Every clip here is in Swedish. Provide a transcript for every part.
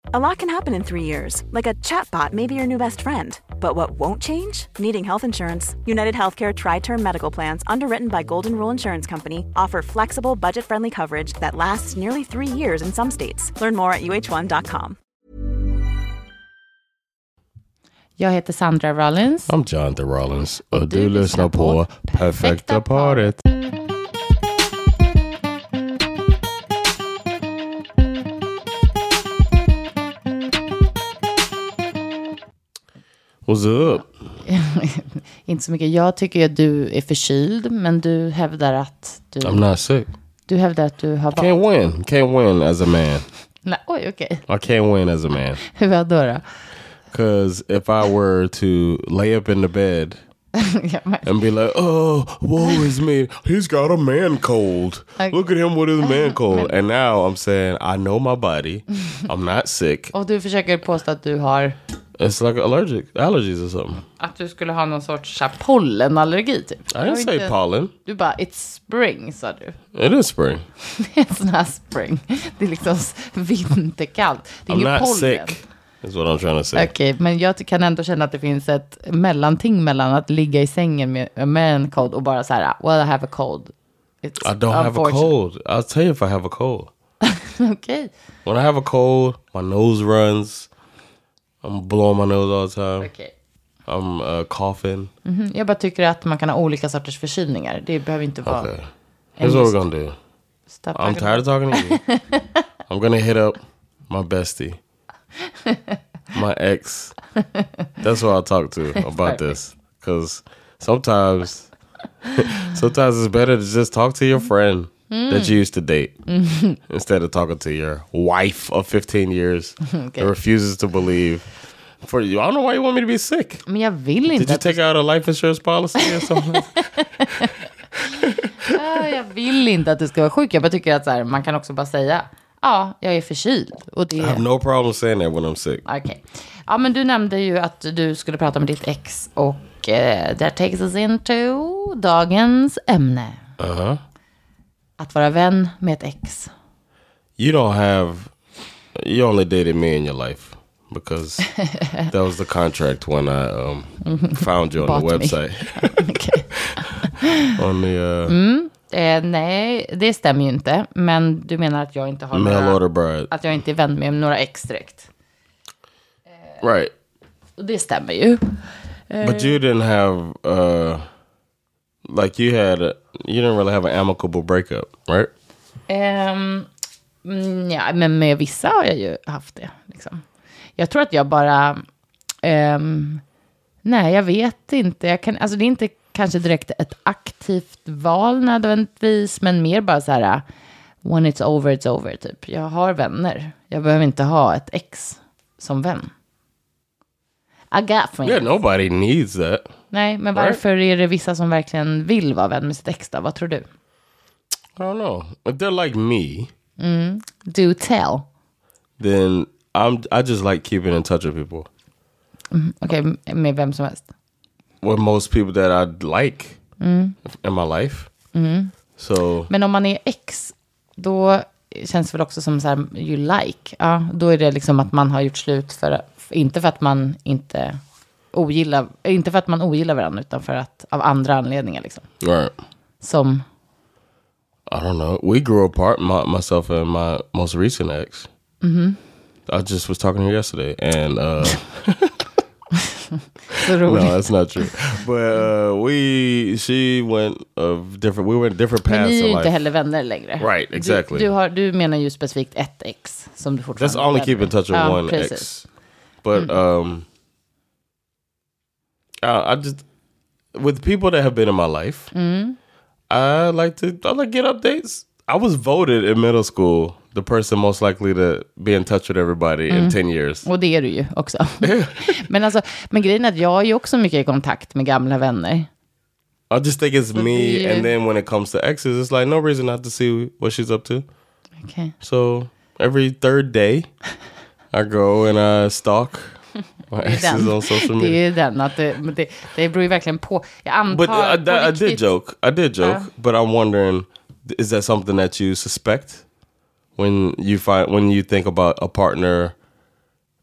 A lot can happen in 3 years, like a chatbot may be your new best friend. But what won't change? Needing health insurance. United Healthcare Tri-Term Medical Plans, underwritten by Golden Rule Insurance Company, offer flexible, budget-friendly coverage that lasts nearly 3 years in some states. Learn more at uh1.com. Jag heter Sandra Rollins. I'm Jonathan Rollins. Och du lyssnar på Perfekta paret. What's up? Inte så mycket. Jag tycker att du är förkyld, men du hävdar att du... I'm not sick. Du hävdar att du har... Can't win as a man. Nej, oj, okej. I can't win as a man. Hur då? Because if I were to lay up in the bed and be like, oh, woe is me. He's got a man cold. Okay. Look at him with his man cold. And now I'm saying, I know my body. I'm not sick. Och du försöker påstå att du har... It's like allergies or something. Att du skulle ha någon sorts pollenallergi typ. I didn't say pollen. Du bara, it's spring, sa du. It is spring. It's not spring. Det är liksom vinterkallt. Det är I'm ingen not pollen. sick. That's what I'm trying to say. Okej, men jag kan ändå känna att det finns ett mellanting mellan att ligga i sängen med en cold och bara så här, well, I have a cold. I don't have a cold. I'll tell you if I have a cold. Okay. When I have a cold, my nose runs. I'm blowing my nose all the time. Okay. I'm coughing. Mm-hmm. Jag bara tycker att man kan ha olika sorters förkylningar. Det behöver inte vara... Okay. Here's what we're gonna do. I'm tired of talking to you. I'm gonna hit up my bestie. My ex. That's who I talk to about this. Because sometimes it's better to just talk to your friend that you used to date instead of talking to your wife of 15 years that refuses to believe. For you, I don't know why you want me to be sick. Men jag vill inte. Did you take out a life insurance policy or something? Jag vill inte att du ska vara sjuk. Jag bara tycker att så här, man kan också bara säga, ja, jag är förkyld. Och det... I have no problem saying that when I'm sick. Okej. Ja, men du nämnde ju att du skulle prata med ditt ex. Och that takes us into dagens ämne. Uh-huh. Att vara vän med ett ex. You only dated me in your life. Because that was the contract when I found you on the website. Okay. On the... Nej, det stämmer ju inte. Men du menar att jag inte har att jag inte är vän med några ex direkt. Right. Och det stämmer ju. But you didn't have like you didn't really have an amicable breakup, right? Ja, men med vissa har jag ju haft det liksom. Jag tror att jag bara nej, jag vet inte. Alltså det är inte kanske direkt ett aktivt val nödvändigtvis, men mer bara så här, when it's over typ. Jag har vänner. Jag behöver inte ha ett ex som vän. I got friends. Yeah, nobody needs that. Nej, men varför är det vissa som verkligen vill vara vän med sitt ex då? Vad tror du? I don't know. If they're like me. Do tell. Then I just like keeping in touch with people. Okej, med vem som helst. With most people that I like in my life. So. Men om man är ex, då känns det väl också som så här, you like. Ja, då är det liksom att man har gjort slut inte för att man inte för att man ogillar varandra, utan för att av andra anledningar liksom. Right. Som I don't know. We grew apart, myself and my most recent ex. I just was talking to her yesterday, and no, that's not true. But she went we went different paths. Men ni är ju inte heller vänner längre. Right, exactly. Du menar ju specifikt ett ex som du fortfarande. That's only keep in touch with one ex. But I just with people that have been in my life, I like to get updates. I was voted in middle school the person most likely to be in touch with everybody in 10 years. Och det är du ju också. men grejen är att jag är ju också mycket i kontakt med gamla vänner. I just think it's me, and then when it comes to exes, it's like no reason not to see what she's up to. Okay. So every third day I go and I stalk my exes on social media. Det är den att det beror ju verkligen på. Jag antar. But I did joke, but I'm wondering, is that something that you suspect when you think about a partner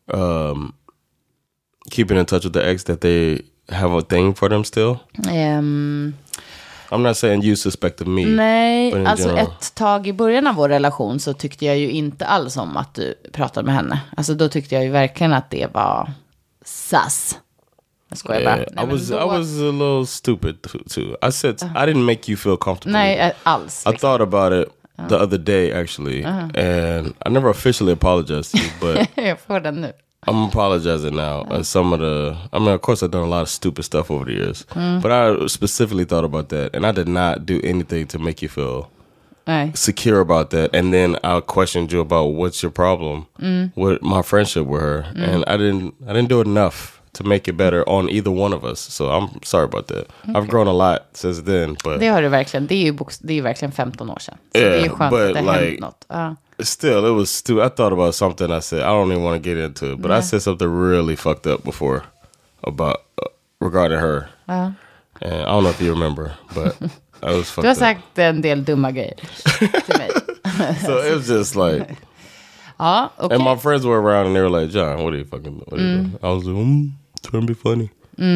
keeping in touch with the ex, that they have a thing for them still? I'm not saying you suspected me. Nej, alltså general. Ett tag i början av vår relation så tyckte jag ju inte alls om att du pratade med henne. Alltså då tyckte jag ju verkligen att det var sass. Jag skojar bara. Nej, I was a little stupid too. I said I didn't make you feel comfortable. Nej, alls. Liksom. I thought about it the other day actually. And I never officially apologized to you, but jag får den nu. I'm apologizing now. And some of of course I've done a lot of stupid stuff over the years. But I specifically thought about that. And I did not do anything to make you feel secure about that. And then I questioned you about what's your problem with my friendship with her. And I didn't do enough to make it better on either one of us. So I'm sorry about that. Okay. I've grown a lot since then. But det har du verkligen. Det är ju verkligen 15 år sedan. Så det är ju skönt att det har hänt något. Still, it was stupid. I thought about something I said. I don't even want to get into it. But I said something really fucked up before about regarding her. And I don't know if you remember, but I was fucked up. Du har sagt en del dumma grejer till mig. So it was just like... okay. And my friends were around and they were like, John, what are you doing? I was like, trying to be funny.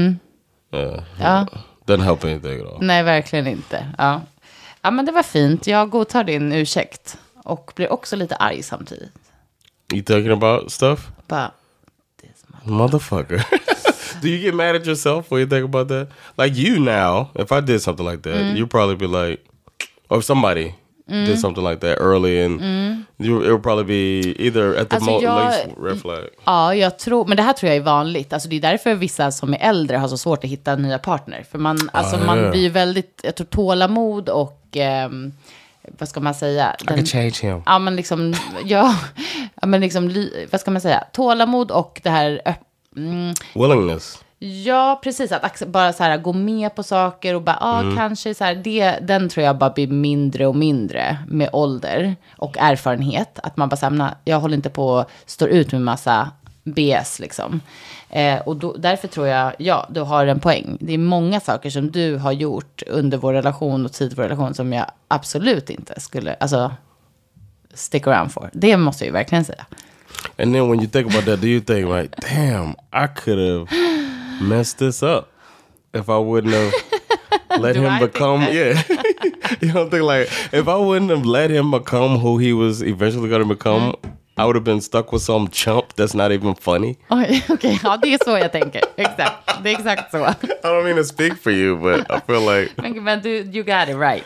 Doesn't help anything at all. Nej, verkligen inte. Ja, men det var fint. Jag godtar din ursäkt. Och blir också lite arg samtidigt. You talking about stuff? About this motherfucker. Do you get mad at yourself when you think about that? Like you now, if I did something like that, you'd probably be like, or if somebody did something like that early, and it would probably be either at the least red flag. Ja, jag tror, men det här tror jag är vanligt. Alltså det är därför vissa som är äldre har så svårt att hitta nya partner. För man blir ju väldigt, jag tror, tålamod och vad ska man säga? I can change him. Ja, men liksom, men liksom, vad ska man säga? Tålamod och det här willingness. Ja, precis. Att bara så här gå med på saker och bara, kanske så här, den tror jag bara blir mindre och mindre med ålder och erfarenhet. Att man bara säger, jag håller inte på att stå ut med massa BS liksom. Och därför tror jag, du har en poäng. Det är många saker som du har gjort under vår relation och tid vår relation som jag absolut inte skulle, stick around for. Det måste jag ju verkligen säga. And then when you think about that, do you think like, damn, I could have messed this up if I wouldn't have let him become, you don't think like, if I wouldn't have let him become who he was eventually going to become, I would have been stuck with some chump that's not even funny. Okej. Ja, det är så jag tänker. Exakt. Det är exakt så. I don't mean to speak for you, but I feel like... Men you got it right.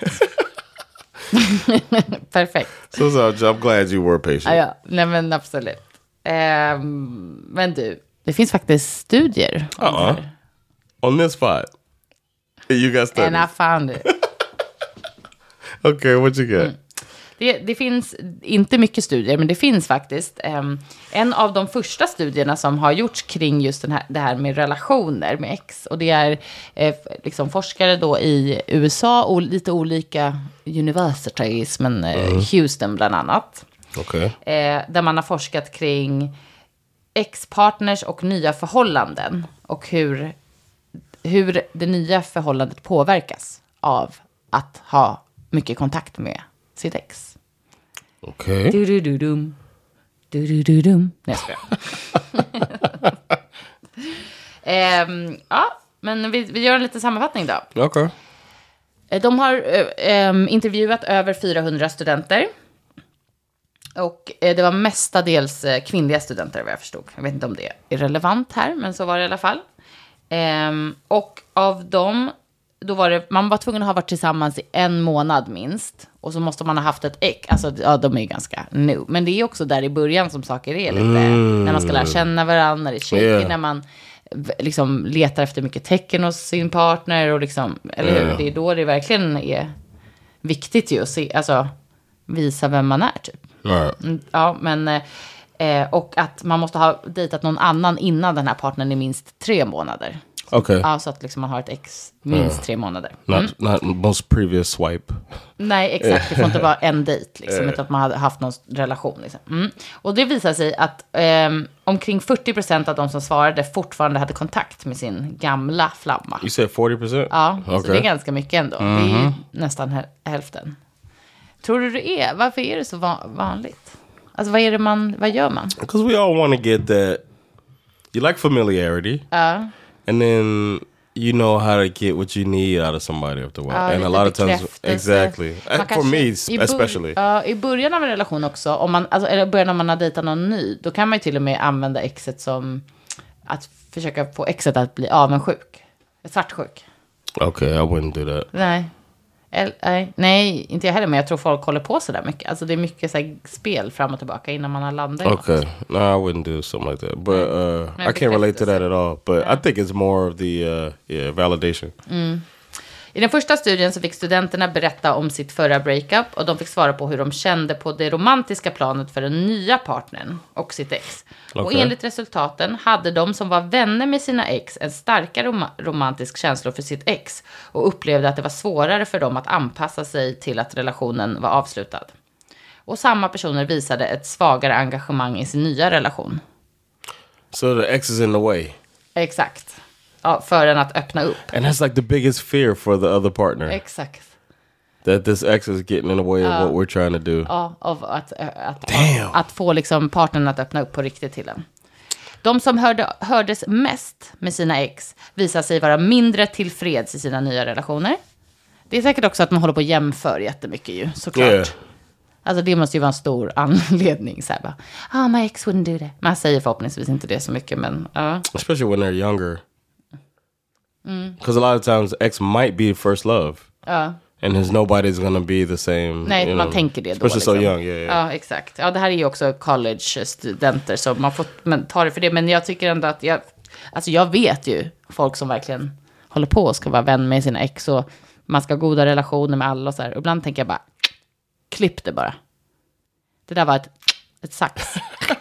Perfekt. So I'm glad you were patient. Ja, nej men absolut. Men du, det finns faktiskt studier. On this spot. You got studies. And I found it. Okay, what you got? Det finns inte mycket studier, men det finns faktiskt en av de första studierna som har gjorts kring just det här med relationer med ex. Och det är liksom forskare då i USA och lite olika universities, men Houston bland annat. Okay. Där man har forskat kring ex-partners och nya förhållanden och hur det nya förhållandet påverkas av att ha mycket kontakt med sitt ex. Okej. Du-du-du-dum. Du-du-du-dum. Nej, jag skojar. Ja, men vi gör en liten sammanfattning då. Okej. De har intervjuat över 400 studenter. Och det var mestadels kvinnliga studenter, vad jag förstod. Jag vet inte om det är relevant här, men så var det i alla fall. Och av dem, då var det, man var tvungen att ha varit tillsammans i 1 månad minst. Och så måste man ha haft ett ex. Alltså, ja, de är ju ganska new. Men det är också där i början som saker är lite. När man ska lära känna varandra, när det är shaky, när man liksom letar efter mycket tecken hos sin partner. Och liksom, eller hur? Det är då det verkligen är viktigt ju att se, alltså, visa vem man är typ. Ja, men och att man måste ha dejtat någon annan innan den här partnern i minst 3 månader. Okej. Ja, så att liksom man har ett ex minst 3 månader. Not most previous swipe. Nej, exakt. Det får inte vara en dejt liksom, utan att man hade haft någon relation liksom. Och det visar sig att omkring 40% av de som svarade fortfarande hade kontakt med sin gamla flamma. You said 40%? Ja, så det är ganska mycket ändå. Det är ju nästan hälften. Tror du det är? Varför är det så vanligt? Alltså vad gör man? Because we all want to get that You like familiarity. And then you know how to get what you need out of somebody after a while. And a lot of times, exactly. For me, especially. I början av en relation också, om man, alltså, eller början när man har dejtat någon ny, då kan man ju till och med använda exet som att försöka få exet att bli avundsjuk. Svartsjuk. Okay, I wouldn't do that. Nej, inte jag heller, men jag tror folk håller på så där mycket. Alltså det är mycket så här spel fram och tillbaka innan man har landat i något. Okay, no, I wouldn't do something like that. But I can't relate to that at all. But I think it's more of the validation. I den första studien så fick studenterna berätta om sitt förra breakup och de fick svara på hur de kände på det romantiska planet för den nya partnern och sitt ex. Okay. Och enligt resultaten hade de som var vänner med sina ex en starkare romantisk känsla för sitt ex och upplevde att det var svårare för dem att anpassa sig till att relationen var avslutad. Och samma personer visade ett svagare engagemang i sin nya relation. So the ex is in the way. Exakt. Ja, för en att öppna upp. And that's like the biggest fear for the other partner. Exakt. That this ex is getting in the way of what we're trying to do. Ja, av att få liksom partnern att öppna upp på riktigt till en. De som hördes mest med sina ex visar sig vara mindre tillfreds i sina nya relationer. Det är säkert också att man håller på att jämföra jättemycket ju, såklart. Yeah. Alltså det måste ju vara en stor anledning. Så här bara, my ex wouldn't do that. Man säger förhoppningsvis inte det så mycket, men... Especially when they're younger. Because a lot of times ex might be first love. And there's nobody's gonna be the same. Nej, man tänker det då. Especially liksom. So young, yeah. Ja, exakt. Ja, det här är ju också college-studenter, så man får ta det för det. Men jag tycker ändå att jag vet ju folk som verkligen håller på och ska vara vän med sina ex och man ska ha goda relationer med alla och så här. Och ibland tänker jag bara, klipp det bara. Det där var ett sax.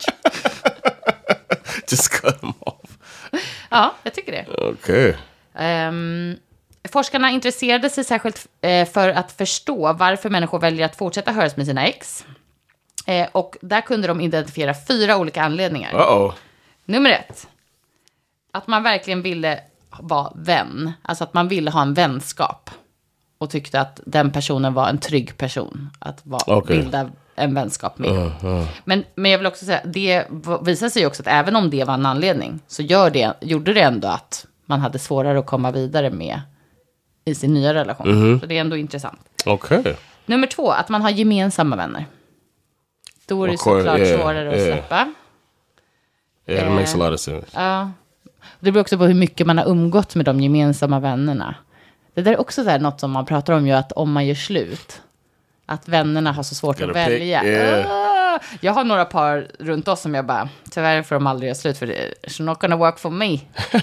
Just cut them off. Ja, jag tycker det. Okay. Forskarna intresserade sig särskilt för att förstå varför människor väljer att fortsätta höras med sina ex. Och där kunde de identifiera 4 olika anledningar. Nummer 1. Att man verkligen ville vara vän. Alltså att man ville ha en vänskap. Och tyckte att den personen var en trygg person. Att bilda en vänskap med. Men jag vill också säga, det visar sig också att även om det var en anledning så gjorde det ändå att man hade svårare att komma vidare med i sin nya relation. Så det är ändå intressant. Okay. Nummer 2, att man har gemensamma vänner. Då är det såklart svårare att släppa. Yeah, it makes a lot of sense. Ja. Det beror också på hur mycket man har umgått med de gemensamma vännerna. Det där är också så här något som man pratar om ju, att om man gör slut, att vännerna har så svårt att välja. Jag har några par runt oss som jag bara, tyvärr får de aldrig göra slut för det. It's not gonna work for me.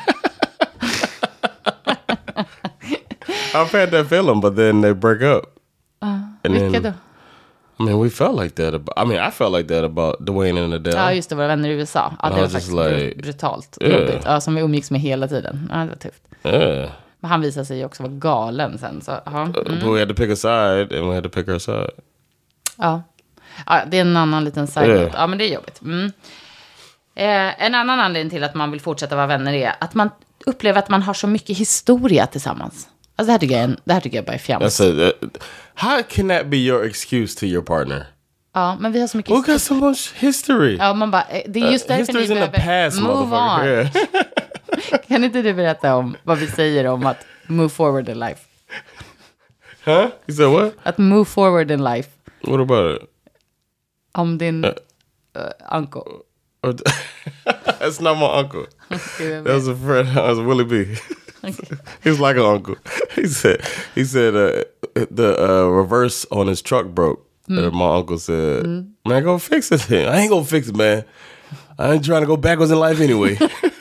I've had that feeling, but then they break up. Vilka då? I mean, we felt like that. I felt like that about Dwayne and Adele. Ja, just det, våra vänner i USA. Ja, det var faktiskt like, brutalt. Jobbigt. Ja, som vi umgicks med hela tiden. Ja, det var tufft. Men han visade sig ju också vara galen sen. Så, but we had to pick a side, and we had to pick our side. Ja, det är en annan liten side. Ja, men det är jobbigt. En annan anledning till att man vill fortsätta vara vänner är att man upplever att man har så mycket historia tillsammans. Alltså det här tycker jag bara är fjams. How can that be your excuse to your partner? Ja, men vi har så mycket historia. We got so much history. Ja, man bara, det är just därför ni behöver move on. Yeah. Kan inte du berätta om vad vi säger om att move forward in life? Huh? You said what? Att move forward in life. What about it? Om din uncle. That's not my uncle. That was a friend. That was Willie B. Okay. He was like an uncle. He said the reverse on his truck broke. My uncle said, man, go fix it then. I ain't gonna fix it, man. I ain't trying to go backwards in life anyway.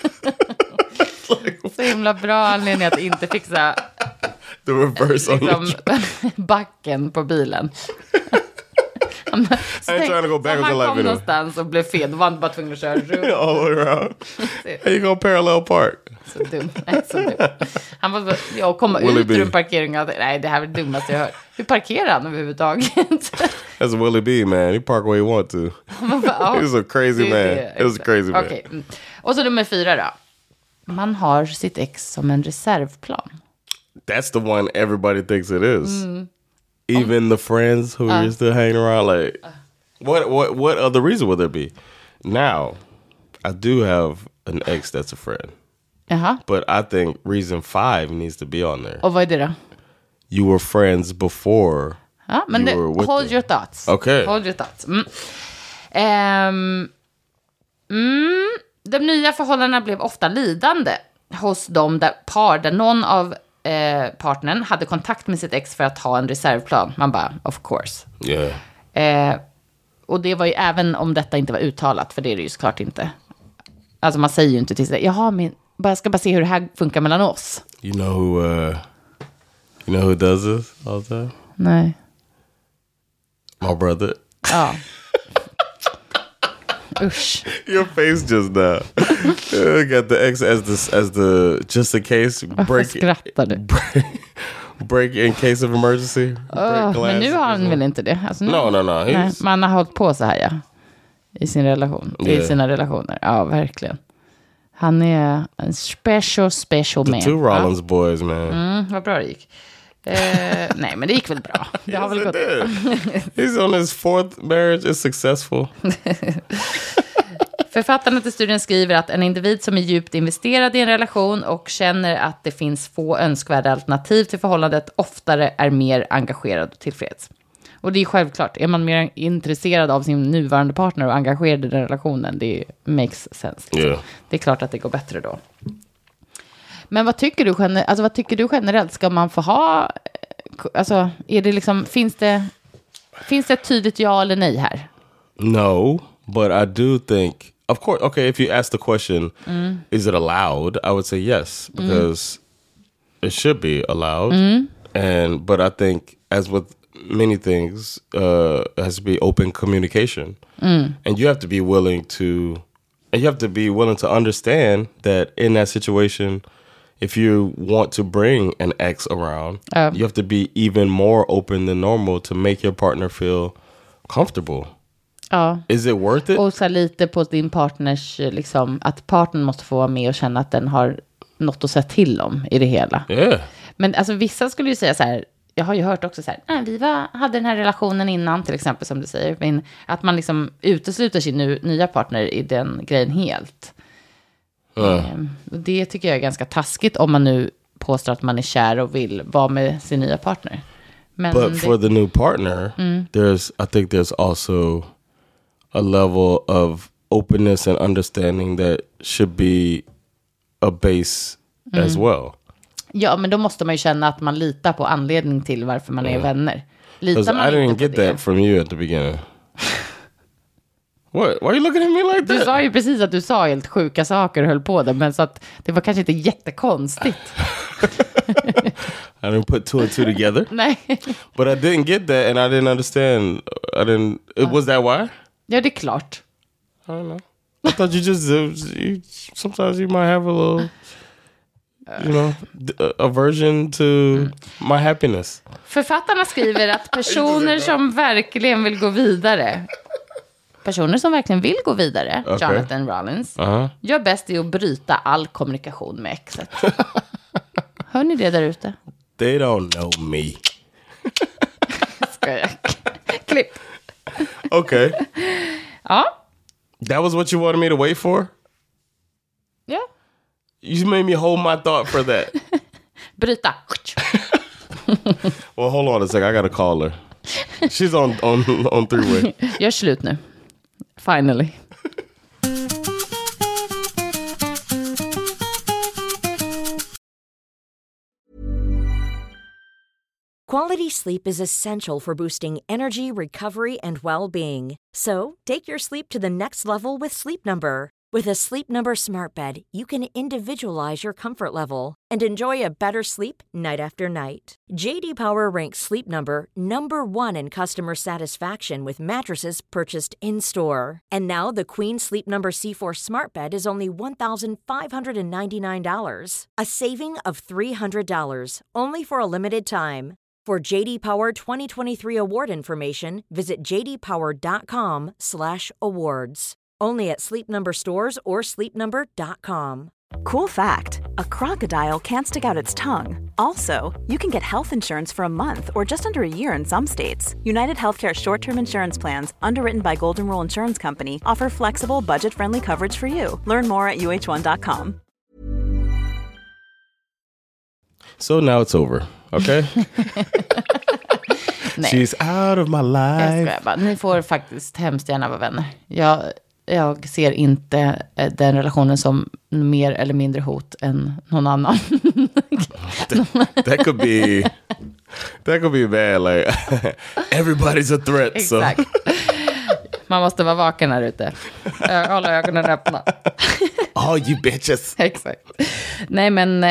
Så himla bra anledning att inte fixa the reverse on backen på bilen. I ain't trying to go backwards in life anyway. Han kom någonstans och blev fel. Då var han bara tvungen att köra runt. All the way around. How you gonna parallel park? Så dum. Han var så, komma ut ur en parkering. Nej, det här är det dummaste jag hört. Hur parkerar han överhuvudtaget? That's Willie B, man. He park where he want to. He's a crazy man. It was a crazy man. Okay. Och så nummer 4 då. Man har sitt ex som en reservplan. That's the one everybody thinks it is. Even the friends who are still hanging around, like, what other reason would there be? Now, I do have an ex that's a friend. Jaha. But I think reason 5 needs to be on there. Och vad är det då? You were friends before. Ja, men hold your thoughts. Okay. Hold your thoughts. De nya förhållandena blev ofta lidande hos de par där någon av partnern hade kontakt med sitt ex för att ha en reservplan. Man bara, of course. Yeah. Och det var ju även om detta inte var uttalat, för det är det ju såklart inte. Alltså man säger ju inte till sig, jaha, men jag ska bara se hur det här funkar mellan oss. You know who does this all the time? Nej. My brother. Ja. Usch. Your face just now. Got the ex as the just in case break in case of emergency. Men nu har han väl inte det? Alltså nu, no. Man har hållit på så här, ja. I sin relation. I sina relationer. Ja, verkligen. Han är en special man. The two Rollins boys, man. Vad bra det gick. Nej, men det gick väl bra. Det har väl gått. He's on his 4th marriage, is successful. Författarna till studien skriver att en individ som är djupt investerad i en relation och känner att det finns få önskvärda alternativ till förhållandet oftare är mer engagerad och tillfreds. Och det är självklart. Är man mer intresserad av sin nuvarande partner och engagerad i den relationen, det makes sense. Yeah. Det är klart att det går bättre då. Men vad tycker du generellt? Ska man få ha... Alltså, är det liksom... Finns det ett tydligt ja eller nej här? No, but I do think... Of course, okay, if you ask the question, is it allowed? I would say yes, because it should be allowed. But I think, as with many things, it has to be open communication. And you have to be willing to understand that in that situation, if you want to bring an ex around, you have to be even more open than normal to make your partner feel comfortable. Ja. Is it worth it? Och så lite på din partners, liksom, att partnern måste få vara med och känna att den har något att säga till om i det hela. Yeah. Men alltså vissa skulle ju säga så här, jag har ju hört också så här, vi hade den här relationen innan, till exempel, som du säger, men att man liksom utesluter sin nya partner i den grejen helt. Och det tycker jag är ganska taskigt om man nu påstår att man är kär och vill vara med sin nya partner. Men but for the new partner, I think there's also a level of openness and understanding that should be a base as well. Ja, men då måste man ju känna att man litar på anledning till varför man är vänner. Litar man I didn't get that from you at the beginning. What? Why are you looking at me like that? Du sa ju precis att du sa helt sjuka saker och höll på det, men så att det var kanske inte jättekonstigt. I didn't put 2 and 2 together. Nej. But I didn't get that and I didn't understand. Was that why? Ja, det är klart. I don't know. I thought you just sometimes you might have a little, aversion to my happiness. Författarna skriver att personer som verkligen vill gå vidare, Jonathan Rollins, gör bäst i att bryta all kommunikation med exet. Hör ni det där ute? They don't know me. Ska jag? Klipp. Okay. Ja. That was what you wanted me to wait for? Yeah. You made me hold my thought for that. Bryta. Well, hold on a second. I gotta call her. She's on three-way. Gör slut nu. Finally. Quality sleep is essential for boosting energy, recovery, and well-being. So, take your sleep to the next level with Sleep Number. With a Sleep Number smart bed, you can individualize your comfort level and enjoy a better sleep night after night. JD Power ranks Sleep Number #1 in customer satisfaction with mattresses purchased in-store. And now the Queen Sleep Number C4 smart bed is only $1,599, a saving of $300, only for a limited time. For JD Power 2023 award information, visit jdpower.com/awards. Only at Sleep Number stores or sleepnumber.com. Cool fact, a crocodile can't stick out its tongue. Also, you can get health insurance for a month or just under a year in some states. United Healthcare short-term insurance plans, underwritten by Golden Rule Insurance Company, offer flexible, budget-friendly coverage for you. Learn more at uh1.com. So now it's over, okay? She's out of my life. Ni får faktiskt hemskt gärna vara vänner. Jag ser inte den relationen som mer eller mindre hot än någon annan. that could be bad. Like everybody's a threat. Exakt. So. Man måste vara vaken här ute. Hålla ögonen öppna. Oh, you bitches. Exakt. Nej, men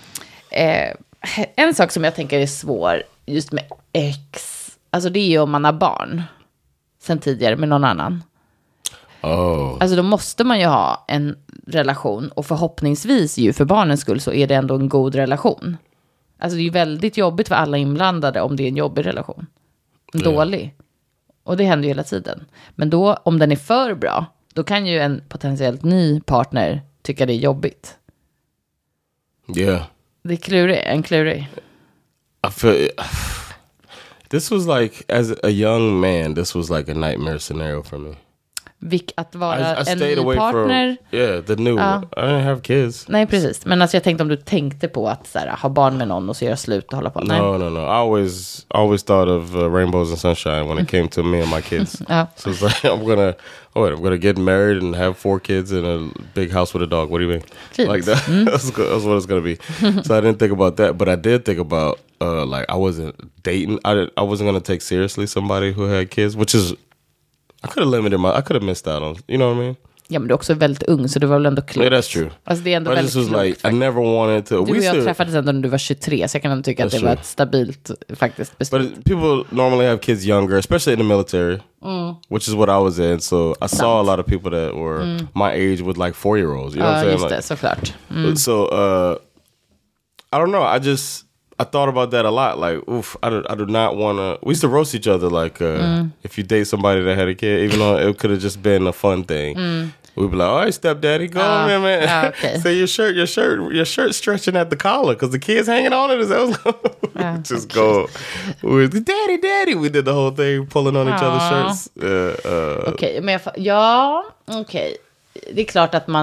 en sak som jag tänker är svår just med ex. Alltså det är ju om man har barn sen tidigare med någon annan. Oh. Alltså då måste man ju ha en relation. Och förhoppningsvis ju för barnens skull så är det ändå en god relation. Alltså det är ju väldigt jobbigt för alla inblandade om det är en jobbig relation. En dålig. Och det händer ju hela tiden. Men då om den är för bra, då kan ju en potentiellt ny partner tycka det är jobbigt. Yeah. Det är en klurig. I feel this was like, as a young man, this was like a nightmare scenario for me. Att vara I en ny partner. The new one. I didn't have kids. Nej, precis. Men alltså jag tänkte om du tänkte på att så här, ha barn med någon och så göra slut och hålla på. Nej. No. I always thought of rainbows and sunshine when it came to me and my kids. So it's like, I'm gonna get married and have 4 kids in a big house with a dog. What do you mean? Jeez. Like that? That's what it's gonna be. So I didn't think about that, but I did think about like I wasn't dating. I wasn't gonna take seriously somebody who had kids, which is I could have missed out on, you know what I mean? Ja, men du är också väldigt ung, så du var väl ändå klokt. Yeah, that's true. Alltså det är ändå väldigt klokt. Like, I never wanted to. Du och jag träffades ändå när du var 23, så jag kan ändå tycka att det var ett stabilt faktiskt beslut. But people normally have kids younger, especially in the military, which is what I was in. So I saw a lot of people that were my age with like 4-year-olds. You know what I'm saying? Just det, såklart. So I don't know. I thought about that a lot. Like, I do not want to. We used to roast each other. Like, if you date somebody that had a kid, even though it could have just been a fun thing, we'd be like, "All right, stepdaddy, go on, man." Okay. So your shirt stretching at the collar because the kid's hanging on it. Just go, daddy. We did the whole thing, pulling on each other's shirts. Okej, men okej. Det är klart att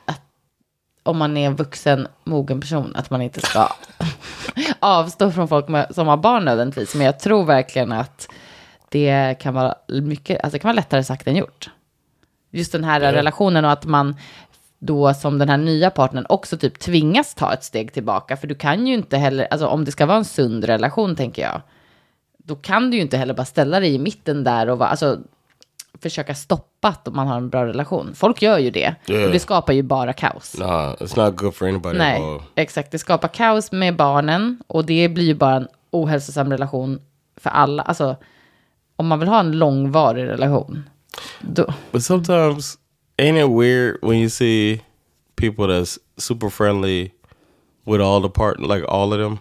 om man är en vuxen, mogen person, att man inte ska avstå från folk som har barn nödvändigtvis. Men jag tror verkligen att det kan vara mycket, alltså det kan vara lättare sagt än gjort. Just den här relationen, och att man då som den här nya partnern också typ tvingas ta ett steg tillbaka. För du kan ju inte heller, alltså om det ska vara en sund relation, tänker jag, då kan du ju inte heller bara ställa dig i mitten där och försöka stoppa att man har en bra relation. Folk gör ju det. Och det skapar ju bara kaos. Nah, it's not good for anybody. Nej, exakt. Det skapar kaos med barnen. Och det blir ju bara en ohälsosam relation för alla. Alltså, om man vill ha en långvarig relation. Då. But sometimes, ain't it weird when you see people that's super friendly with all of them?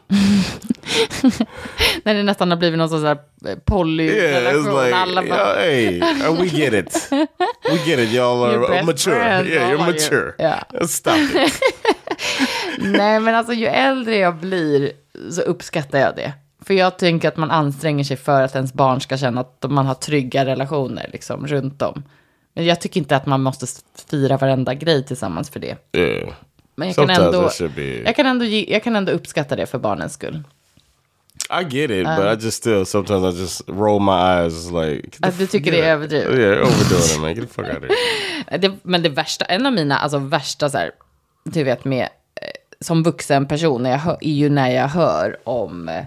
När det nästan har blivit någon sån här polyrelation. Yeah, it's like, bara... hey, we get it. We get it, y'all are mature. You're mature. Yeah. Stop it. Nej, men alltså ju äldre jag blir så uppskattar jag det. För jag tänker att man anstränger sig för att ens barn ska känna att man har trygga relationer liksom runt om. Men jag tycker inte att man måste fira varenda grej tillsammans för det. Yeah. Men jag kan ändå uppskatta det för barnens skull. I get it, but sometimes I just roll my eyes like... Att du tycker det är överdrivet? Yeah, overdoing it, man. Get the fuck out of here. Men det värsta, en av mina värsta så här, du vet med, som vuxen person, är ju när jag hör om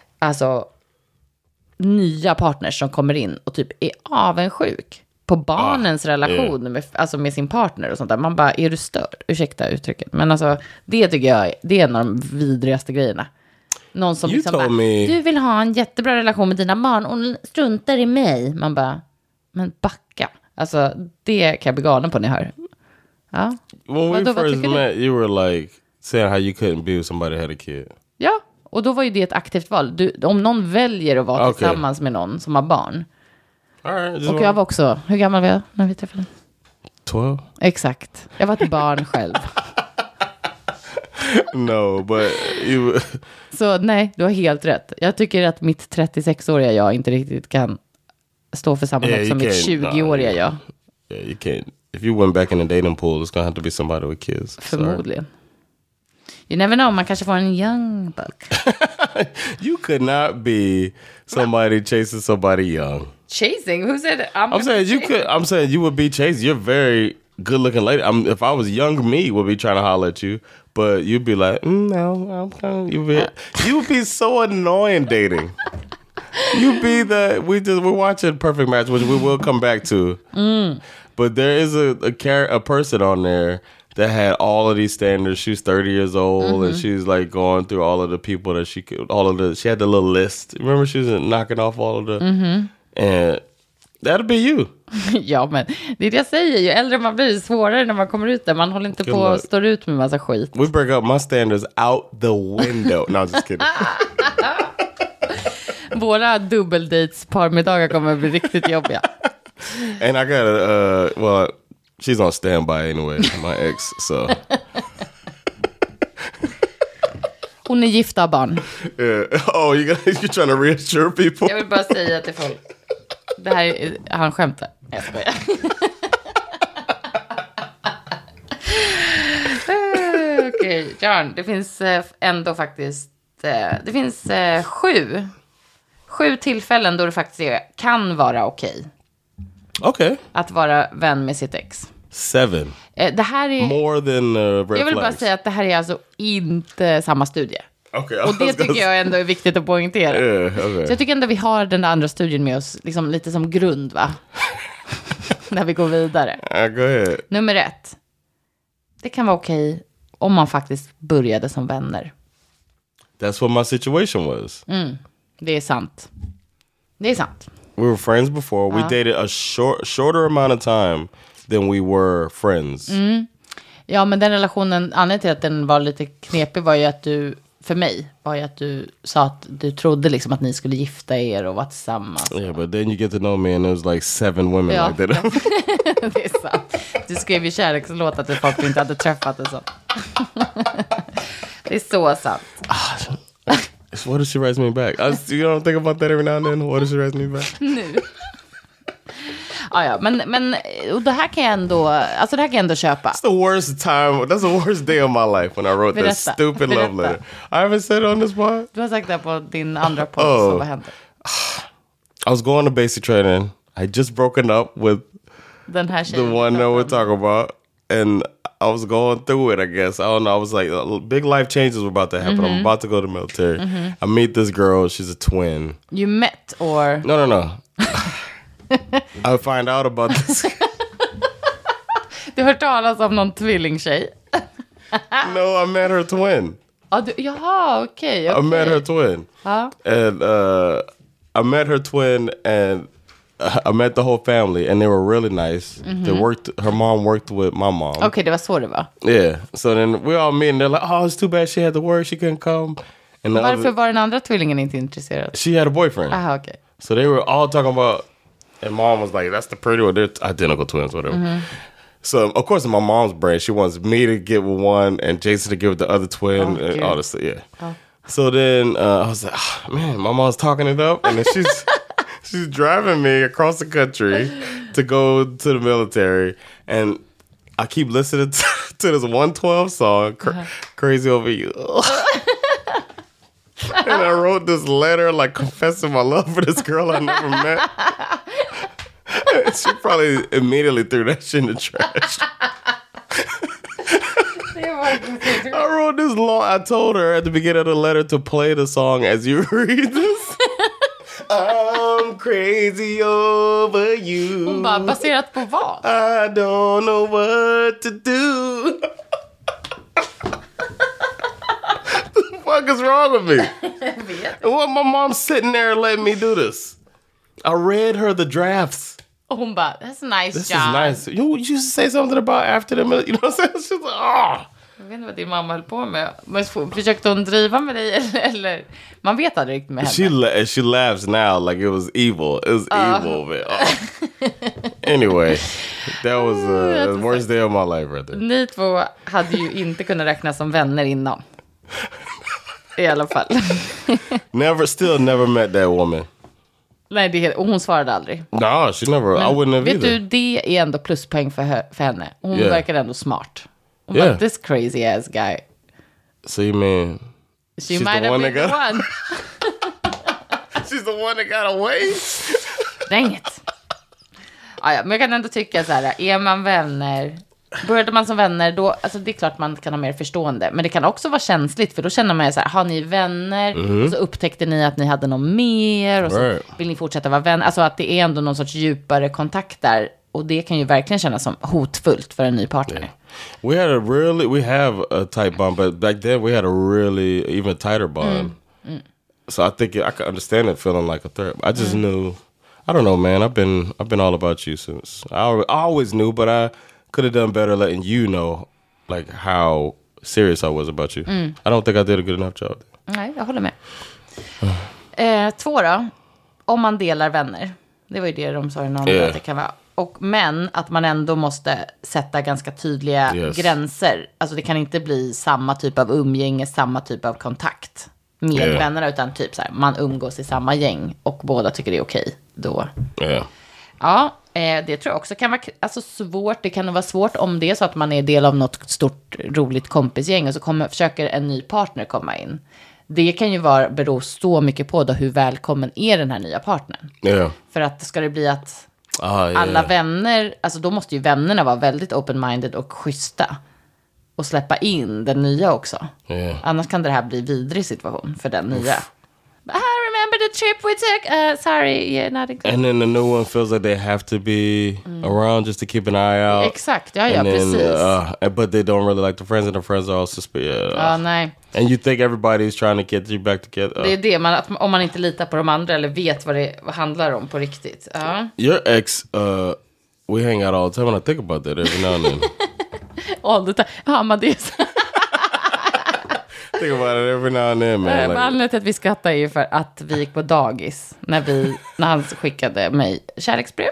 nya partners som kommer in och typ är avundsjuk på barnens relation med sin partner och sånt där. Man bara, är du störd? Ursäkta uttrycket. Men alltså, det tycker jag, det är en av de vidrigaste grejerna. Någon som liksom bara, du vill ha en jättebra relation med dina barn och struntar i mig. Man bara, men backa. Alltså, det kan jag bli galen på när jag hör. Ja. When we first met, you were like saying how you couldn't be with somebody who had a kid. Ja, och då var ju det ett aktivt val. Om någon väljer att vara tillsammans med någon som har barn. Right, och jag var också, hur gammal var jag när vi träffades? 12. Exakt, jag var ett barn själv. No, but you... Så nej, du har helt rätt. Jag tycker att mitt 36-åriga jag inte riktigt kan stå för samma sak som mitt 20-åriga jag. Yeah, you can't. If you went back in the dating pool, it's gonna have to be somebody with kids. Förmodligen. You never know, man kanske får en young buck. You could not be somebody chasing somebody young. Chasing? Who said it? I'm saying you could. I'm saying you would be chasing. You're very good looking lady. If I was young, me would be trying to holler at you, but you'd be like, no, I'm kind of. You would be so annoying dating. You'd be we're watching Perfect Match, which we will come back to. But there is a person on there that had all of these standards. She's 30 years old, and she's like going through all of the people that she could. She had the little list. Remember, she was knocking off all of the. And that'll be you. Ja, men det är det jag säger. Ju äldre man blir, svårare när man kommer ut där. Man håller inte på att stå ut med massa skit. We break up my standards out the window. No, I'm just kidding. Våra dubbeldates parmiddagar kommer att bli riktigt jobbiga. And I got well, she's on standby anyway, my ex, so. Hon är gift av barn. Oh, you're trying to reassure people? Jag vill bara säga till folk. Det här är, han skämtar. Jag skojar. Okej, John, det finns ändå faktiskt det finns 7 tillfällen då det faktiskt kan vara okej. Okay. Att vara vän med sitt ex. 7. Det här är more than red jag vill bara flags. säga att det här är alltså inte samma studie. Okay, och det tycker jag ändå är viktigt att poängtera. Okay. Så jag tycker ändå vi har den andra studien med oss liksom lite som grund, va? När vi går vidare. Go ahead. Nummer 1. Det kan vara okej om man faktiskt började som vänner. That's what my situation was. Det är sant. Det är sant. We were friends before. We dated a shorter amount of time than we were friends. Ja, men den relationen, anledningen till att den var lite knepig var ju att du, för mig, var ju att du sa att du trodde liksom att ni skulle gifta er och vara tillsammans. Yeah, but then you get to know me and there's like 7 women like that. Det är sant. Du skrev ju kärlekslåtar till folk du inte hade träffat och så. Det är så sant. What if she writes me back? You don't think about that every now and then? What if she writes me back? Nu. Ja, men och det här kan jag ändå, alltså det här kan jag ändå köpa. That's the worst time. That's the worst day of my life when I wrote that stupid love letter. I haven't said it on this part. Du har sagt det på din andra podd, så vad hände? I was going to basic training. I just broken up with den här the one that we're talking about. And I was going through it, I guess. I don't know. I was like, big life changes were about to happen. I'm about to go to the military. I meet this girl. She's a twin. You met or? No. I find out about this. Du har hört talas om någon tvillingtjej? No, I met her twin. Jaha, okej. I met her twin. And I met her twin and I met the whole family and they were really nice. Her mom worked with my mom. Okay, det var så det var. Yeah. So then we all meet and they're like, oh, it's too bad she had to work. She couldn't come. And varför var den andra tvillingen inte intresserad? She had a boyfriend. Aha, okay. So they were all talking about, and mom was like, that's the pretty one. They're identical twins, whatever. So, of course, in my mom's brain, she wants me to get with one and Jason to get with the other twin and all this stuff. Yeah. So then I was like, oh, man, my mom's talking it up. And then she's driving me across the country to go to the military. And I keep listening to this 112 song, Crazy Over You. And I wrote this letter, like, confessing my love for this girl I never met. She probably immediately threw that shit in the trash. I wrote this long. I told her at the beginning of the letter to play the song as you read this. I'm crazy over you. Hon bara, baserat på vad? I don't know what to do. What the fuck is wrong with me? What, my mom's sitting there and letting me do this. I read her the drafts. Och hon bara, that's a nice this job. This is nice. You used to say something about after the military. You know what I'm saying? She's like, oh. Jag vet inte vad din mamma höll på med. Men försökte hon driva med dig eller? Man vet aldrig riktigt med henne. She laughs now like it was evil. It was evil, man. Anyway, that was the worst day of my life right there. Ni två hade ju inte kunnat räknas som vänner innan. I alla fall. Still never met that woman. Nej, och hon svarade aldrig. No, she never. I wouldn't have vet either. du, det är ändå pluspoäng för henne. Hon verkar ändå smart. Hon bara, this crazy ass guy. So you mean she might have been the one. She's the one that got away? Dänget. Ja, men jag kan ändå tycka så här, är man vänner, började man som vänner då, alltså det är klart man kan ha mer förstående, men det kan också vara känsligt, för då känner man ju så här, har ni vänner och så upptäckte ni att ni hade något mer och så vill ni fortsätta vara vänner, alltså att det är ändå någon sorts djupare kontakt där, och det kan ju verkligen kännas som hotfullt för en ny partner. Yeah. We have a tight bond, but back then we had a really even tighter bond. So I think I could understand it feeling like a threat. I just knew, I don't know, man. I've been all about you since. I always knew, but I could have done better letting you know, like how serious I was about you. I don't think I did a good enough job. Nej, jag håller med. 2 då, om man delar vänner. Det var ju det de sa i någon att det kan vara. Men att man ändå måste sätta ganska tydliga gränser. Alltså det kan inte bli samma typ av umgänge, samma typ av kontakt med vännerna, utan typ så här, man umgås i samma gäng och båda tycker det är okej då. Ja, det tror jag också kan vara alltså svårt. Det kan vara svårt om det är så att man är del av något stort roligt kompisgäng och så försöker en ny partner komma in. Det kan ju bero så mycket på då hur välkommen är den här nya partnern. För att ska det bli att alla vänner, alltså då måste ju vännerna vara väldigt open-minded och schyssta och släppa in den nya också. Annars kan det här bli vidrig situation för den nya. I remember the trip we took. Sorry, yeah, not included. And then the new one feels like they have to be around just to keep an eye out. Exakt, ja, precis. But they don't really like the friends, and the friends are all suspicious. Nej. And you think everybody's trying to get you back together. Det är det, om man inte litar på de andra eller vet vad det handlar om på riktigt. Your ex, we hang out all the time, and I think about that every now and then. All the time. Ja, men det är så. Think about it every now and then, man. Anledningen till att vi skrattar är ju för att vi gick på dagis när han skickade mig kärleksbrev.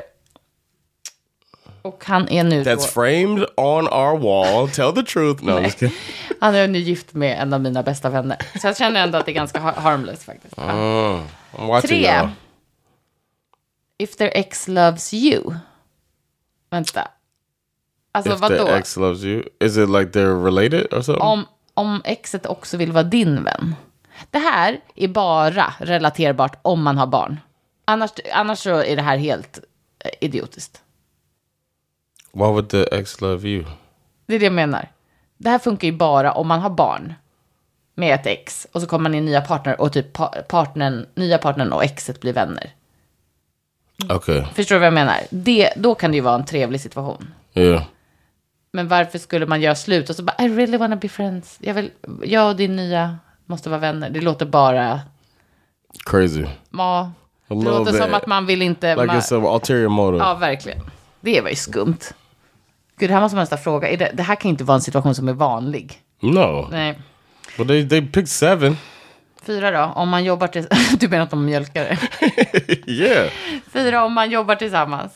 Och han är nu That's framed on our wall. Tell the truth. No, han är nu gift med en av mina bästa vänner. Så jag känner ändå att det är ganska harmless faktiskt. 3. If their ex loves you. Vänta. Alltså vadå? If their ex loves you? Is it like they're related or something? Om exet också vill vara din vän. Det här är bara relaterbart om man har barn. Annars så är det här helt idiotiskt. Why would the ex love you? Det är det jag menar. Det här funkar ju bara om man har barn med ett ex. Och så kommer man in nya partner och typ nya partnern och exet blir vänner. Okay. Förstår du vad jag menar? Då kan det ju vara en trevlig situation. Yeah. Men varför skulle man göra slut och så bara, I really wanna be friends. Jag och din nya måste vara vänner. Det låter bara crazy. Ja, det låter som att man vill inte... Like it's an ulterior motive. Ja, verkligen. Det var ju skumt. Gud, det här måste man nästan fråga. Det här kan inte vara en situation som är vanlig. No. Nej. But they picked 7. 4 då, om man jobbar du menar att de mjölkar det? Yeah. 4 om man jobbar tillsammans.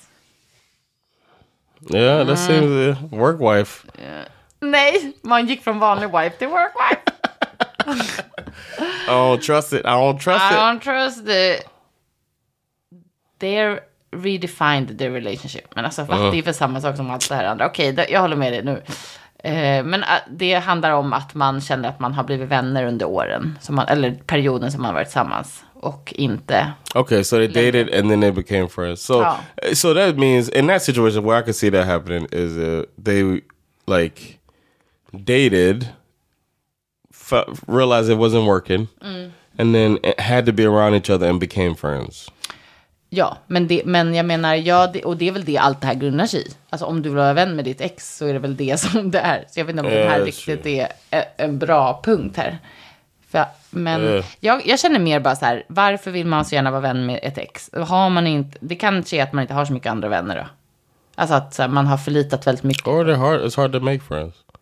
Yeah, that seems work wife. Nej, man gick från vanlig wife till work wife. I don't trust it. I don't trust it. They're redefined their relationship. Men alltså, det är för samma sak som allt det här andra. Okej, jag håller med dig nu. Men det handlar om att man känner att man har blivit vänner under åren. Eller perioden som man har varit tillsammans. Och inte... Okay, so they dated and then they became friends. So that means in that situation where I could see that happening is they like dated, realized it wasn't working, and then had to be around each other and became friends. Ja, men jag menar, och det är väl det allt det här grundar sig i. Alltså om du vill vara vän med ditt ex så är det väl det som det är. Så jag vet inte om det här riktigt är en bra punkt här. Men jag känner mer bara så här, varför vill man så gärna vara vän med ett ex? Har man inte, det kanske är att man inte har så mycket andra vänner då. Alltså att så här, man har förlitat väldigt mycket. Or it's hard to make friends.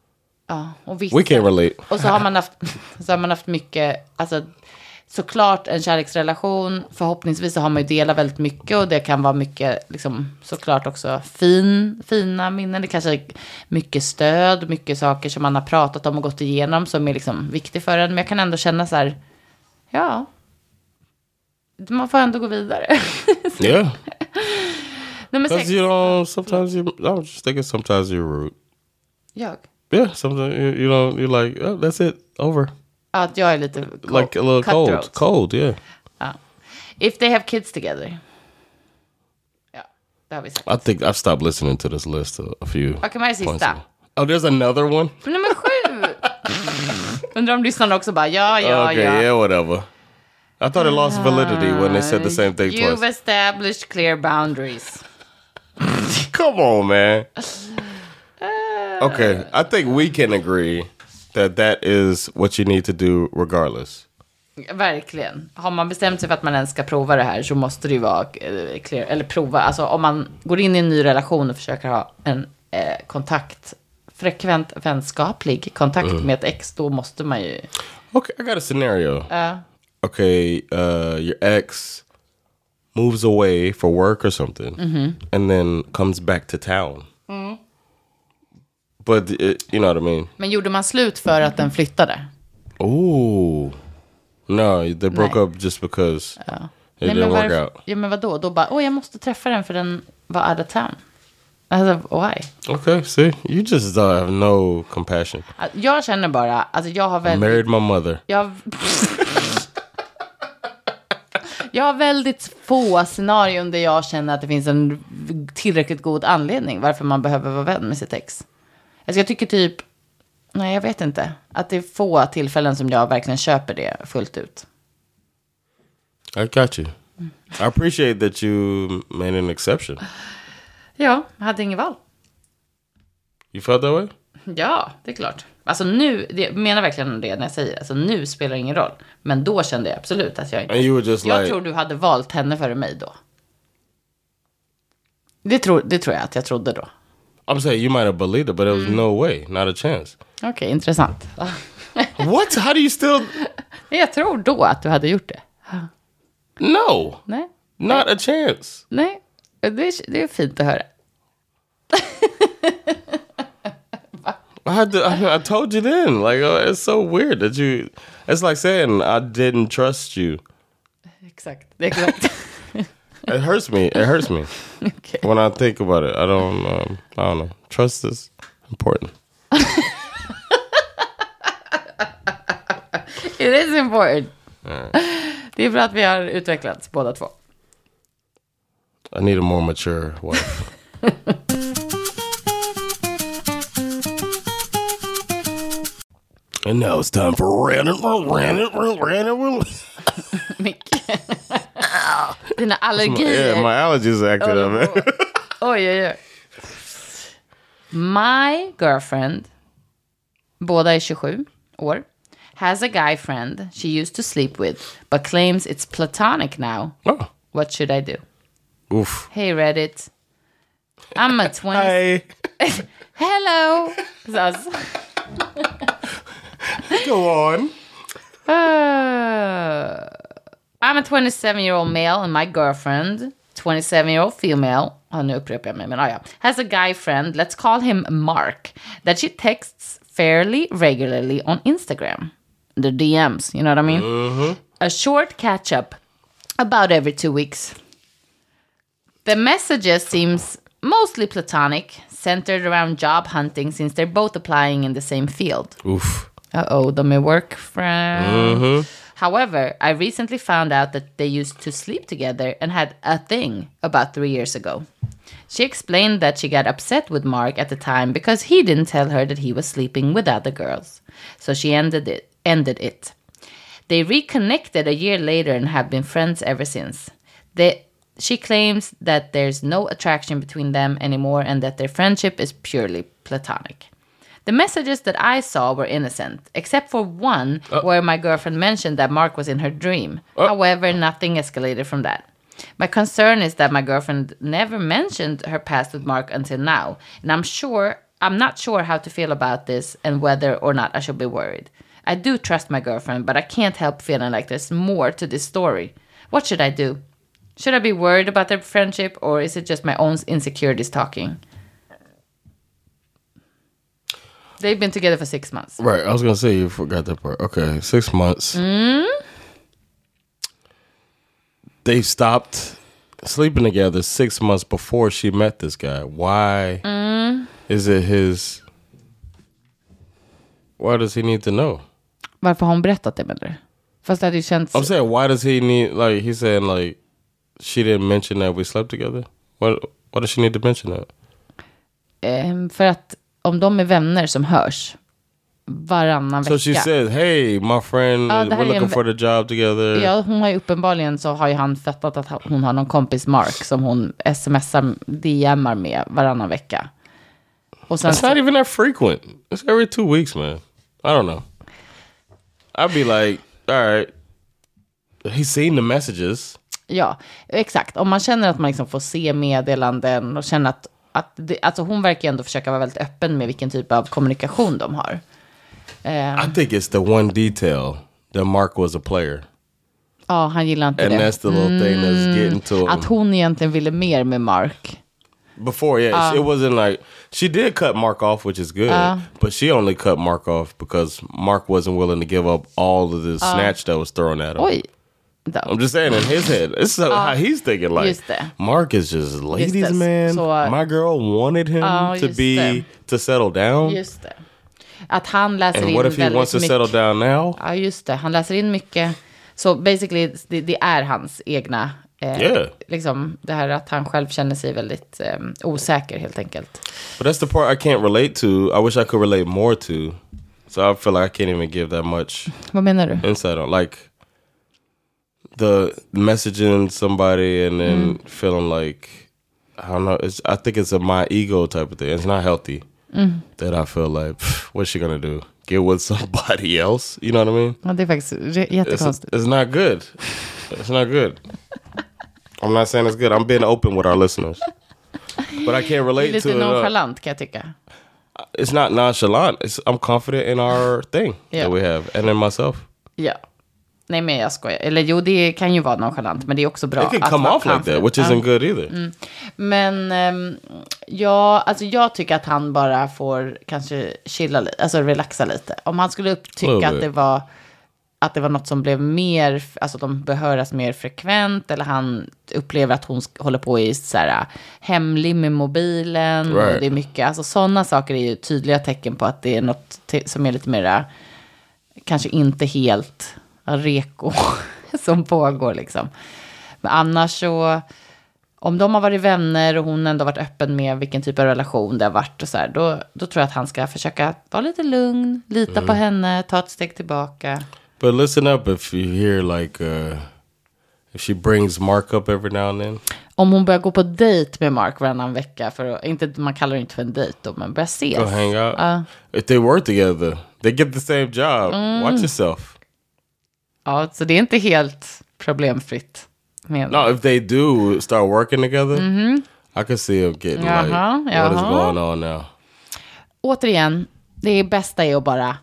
Ja, och vissa, We can't relate. Och så har man haft mycket, alltså såklart en kärleksrelation, förhoppningsvis så har man ju delat väldigt mycket och det kan vara mycket, liksom, såklart också fina minnen, det kanske är mycket stöd, mycket saker som man har pratat om och gått igenom som är liksom viktigt för en, men jag kan ändå känna så här, ja, man får ändå gå vidare. Yeah. Nummer 6. Because you know, sometimes I was just thinking sometimes you're rude. Jag? Yeah, sometimes you know, you're like, oh, that's it, over. Att jag är lite like a little cold, yeah. Ja. If they have kids together. Ja, det har vi sagt. I think I've stopped listening to this list a few. Okej, vad är sista? Oh, there's another one? Nummer 7. Undrar om lyssnarna också bara, ja. Okay, yeah, whatever. I thought it lost validity when they said the same thing twice. You've established clear boundaries. Come on, man. Okay, I think we can agree that is what you need to do regardless. Verkligen. Har man bestämt sig för att man ens ska prova det här så måste det ju vara clear. Eller prova, alltså om man går in i en ny relation och försöker ha en frekvent vänskaplig kontakt med ett ex, då måste man ju... Okay, I got a scenario. Okay, your ex moves away for work or something and then comes back to town. But you know what I mean? Men gjorde man slut för att den flyttade? Oh. No, they broke up just because it didn't work out. Ja, men vadå? Då bara, jag måste träffa den för den var out of town. Alltså, why? Okay, see? You just have no compassion. Jag känner bara, alltså jag har väldigt... Married my mother. Jag har väldigt få scenarion där jag känner att det finns en tillräckligt god anledning varför man behöver vara vän med sitt ex. Alltså jag tycker typ, nej jag vet inte, att det är få tillfällen som jag verkligen köper det fullt ut. I got you. I appreciate that you made an exception. Ja, jag hade ingen val. You felt that way? Ja, det är klart. Alltså nu, jag menar verkligen det när jag säger, alltså nu spelar det ingen roll. Men då kände jag absolut att jag inte... And you were just jag tror du hade valt henne före mig då. Det tror jag att jag trodde då. I'm saying you might have believed it, but there was no way, not a chance. Okej, intressant. What? How do you still... Jag tror då att du hade gjort det. No. Nej. Not a chance. Nej, det är fint att höra. I told you then. Like, it's so weird that you... It's like saying I didn't trust you. Exakt. It hurts me. Okay. When I think about it. I don't know. Trust is important. It is important. Det är bra att vi har utvecklats båda två. I need a more mature wife. And now it's time for random. Dina allergier. Yeah, my allergies are acting up. Oj. My girlfriend, båda är 27 år, has a guy friend she used to sleep with, but claims it's platonic now. Oh. What should I do? Oof. Hey Reddit. I'm a 20... Hey. Hello. Us. Go on. I'm a 27-year-old male and my girlfriend, 27-year-old female, nu upprepar jag mig, men ja, has a guy friend, let's call him Mark, that she texts fairly regularly on Instagram. The DMs, you know what I mean? Mm-hmm. A short catch-up about every 2 weeks. The messages seems mostly platonic, centered around job hunting since they're both applying in the same field. Oof. De är work friends. Mm-hmm. However, I recently found out that they used to sleep together and had a thing about 3 years ago. She explained that she got upset with Mark at the time because he didn't tell her that he was sleeping with other girls. So she ended it. They reconnected a year later and have been friends ever since. She claims that there's no attraction between them anymore and that their friendship is purely platonic. The messages that I saw were innocent, except for one where my girlfriend mentioned that Mark was in her dream. However, nothing escalated from that. My concern is that my girlfriend never mentioned her past with Mark until now, and I'm sure I'm not sure how to feel about this and whether or not I should be worried. I do trust my girlfriend, but I can't help feeling like there's more to this story. What should I do? Should I be worried about their friendship, or is it just my own insecurities talking? They've been together for 6 months. Right, I was gonna say you forgot that part. Okay, 6 months. They stopped sleeping together 6 months before she met this guy. Why is it his... Why does he need to know? Varför har hon berättat det med dig? Fast det hade ju känts... I'm saying, why does he need... Like, he's saying, like, she didn't mention that we slept together? Why does she need to mention that? För att om de är vänner som hörs varannan vecka. So she says, hey, my friend, we're looking for the job together. Ja, hon har ju uppenbarligen så har ju han fattat att hon har någon kompis Mark som hon smsar, DMar med varannan vecka. Och sen It's not even that frequent. It's every 2 weeks, man. I don't know. I'd be like, all right, he's seen the messages. Ja, exakt. Om man känner att man liksom får se meddelanden och känner att det, alltså hon verkar ändå försöka vara väldigt öppen med vilken typ av kommunikation de har. I think it's the one detail that Mark was a player. Ja, han gillar inte And det. that's the little thing that's getting to him. Att hon egentligen ville mer med Mark. Before, yeah, it wasn't like... She did cut Mark off, which is good. But she only cut Mark off because Mark wasn't willing to give up all of the snatch that was thrown at him. Oj. I'm just saying, in his head, this is how he's thinking. Like, Mark is just ladies' man. Så, my girl wanted him to settle down. Just det. Att han läser and in what if he wants to settle down now? Ja, just det. Han läser in mycket. Så basically, det är hans egna... liksom det här att han själv känner sig väldigt osäker helt enkelt. But that's the part I can't relate to. I wish I could relate more to. So I feel like I can't even give that much. Vad menar du? Insight on like the messaging somebody and then feeling like I don't know. I think it's a my ego type of thing. It's not healthy. That I feel like what's she gonna do? Get with somebody else? You know what I mean? Ja, det är faktiskt jättekonstigt. It's not good. It's not good. I'm not saying it's good. I'm being open with our listeners. But I can't relate to it. Det är lite nonchalant kan jag tycka. It's not nonchalant. I'm confident in our thing that we have. And in myself. Ja. Nej, men jag skojar. Eller jo, det kan ju vara nonchalant. Men det är också bra. It can come off like that, which isn't good either. Men alltså jag tycker att han bara får kanske chilla lite. Alltså relaxa lite. Om han skulle tycka att det var något som blev mer, alltså de behöras mer frekvent, eller han upplever att hon håller på i så här hemlig med mobilen, och det är mycket, alltså sådana saker är ju tydliga tecken på att det är något som är lite mer kanske inte helt reko som pågår liksom. Men annars så, om de har varit vänner och hon ändå varit öppen med vilken typ av relation det har varit och så här, då tror jag att han ska försöka ta lite lugn, lita på henne, ta ett steg tillbaka. But listen up if you hear like if she brings Mark up every now and then. Om hon börjar gå på dejt med Mark varannan vecka, för inte, man kallar det inte för en dejt då, men börjar ses. Go hang out. If they work together, they get the same job. Watch yourself. Ja, så det är inte helt problemfritt. No, if they do start working together, I can see them getting like, what is going on now? Återigen, det bästa är att bara...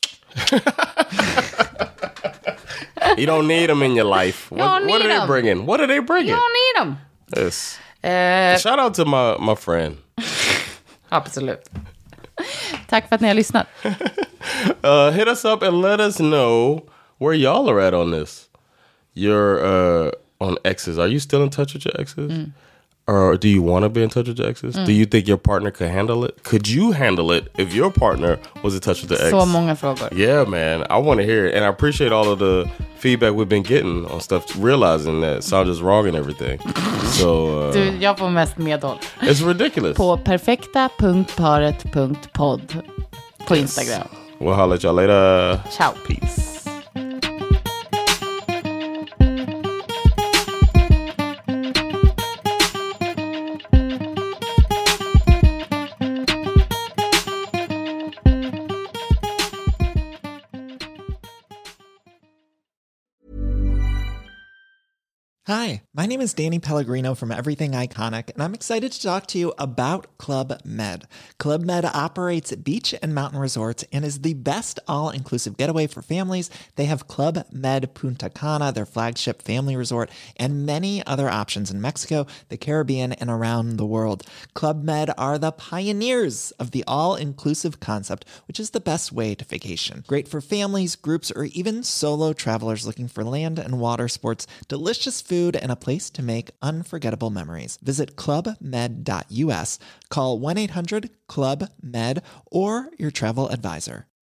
You don't need them in your life. What are they bringing? What are they bringing? You don't need them. Yes. Shout out to my friend. Absolut. Tack för att ni har lyssnat. Hit us up and let us know where y'all are at on this. You're on exes. Are you still in touch with your exes? Or do you want to be in touch with your exes? Do you think your partner could handle it? Could you handle it if your partner was in touch with the ex? Så många frågor. Yeah, man. I want to hear it. And I appreciate all of the feedback we've been getting on stuff, realizing that Sandra's wrong and everything. So, du, jag får mest medhåll. It's ridiculous. På perfekta.paret.podd på Instagram. We'll holler at y'all later. Ciao. Peace. Hi, my name is Danny Pellegrino from Everything Iconic, and I'm excited to talk to you about Club Med. Club Med operates beach and mountain resorts and is the best all-inclusive getaway for families. They have Club Med Punta Cana, their flagship family resort, and many other options in Mexico, the Caribbean, and around the world. Club Med are the pioneers of the all-inclusive concept, which is the best way to vacation. Great for families, groups, or even solo travelers looking for land and water sports, delicious food, and a place to make unforgettable memories. Visit clubmed.us, call 1-800-CLUB-MED, or your travel advisor.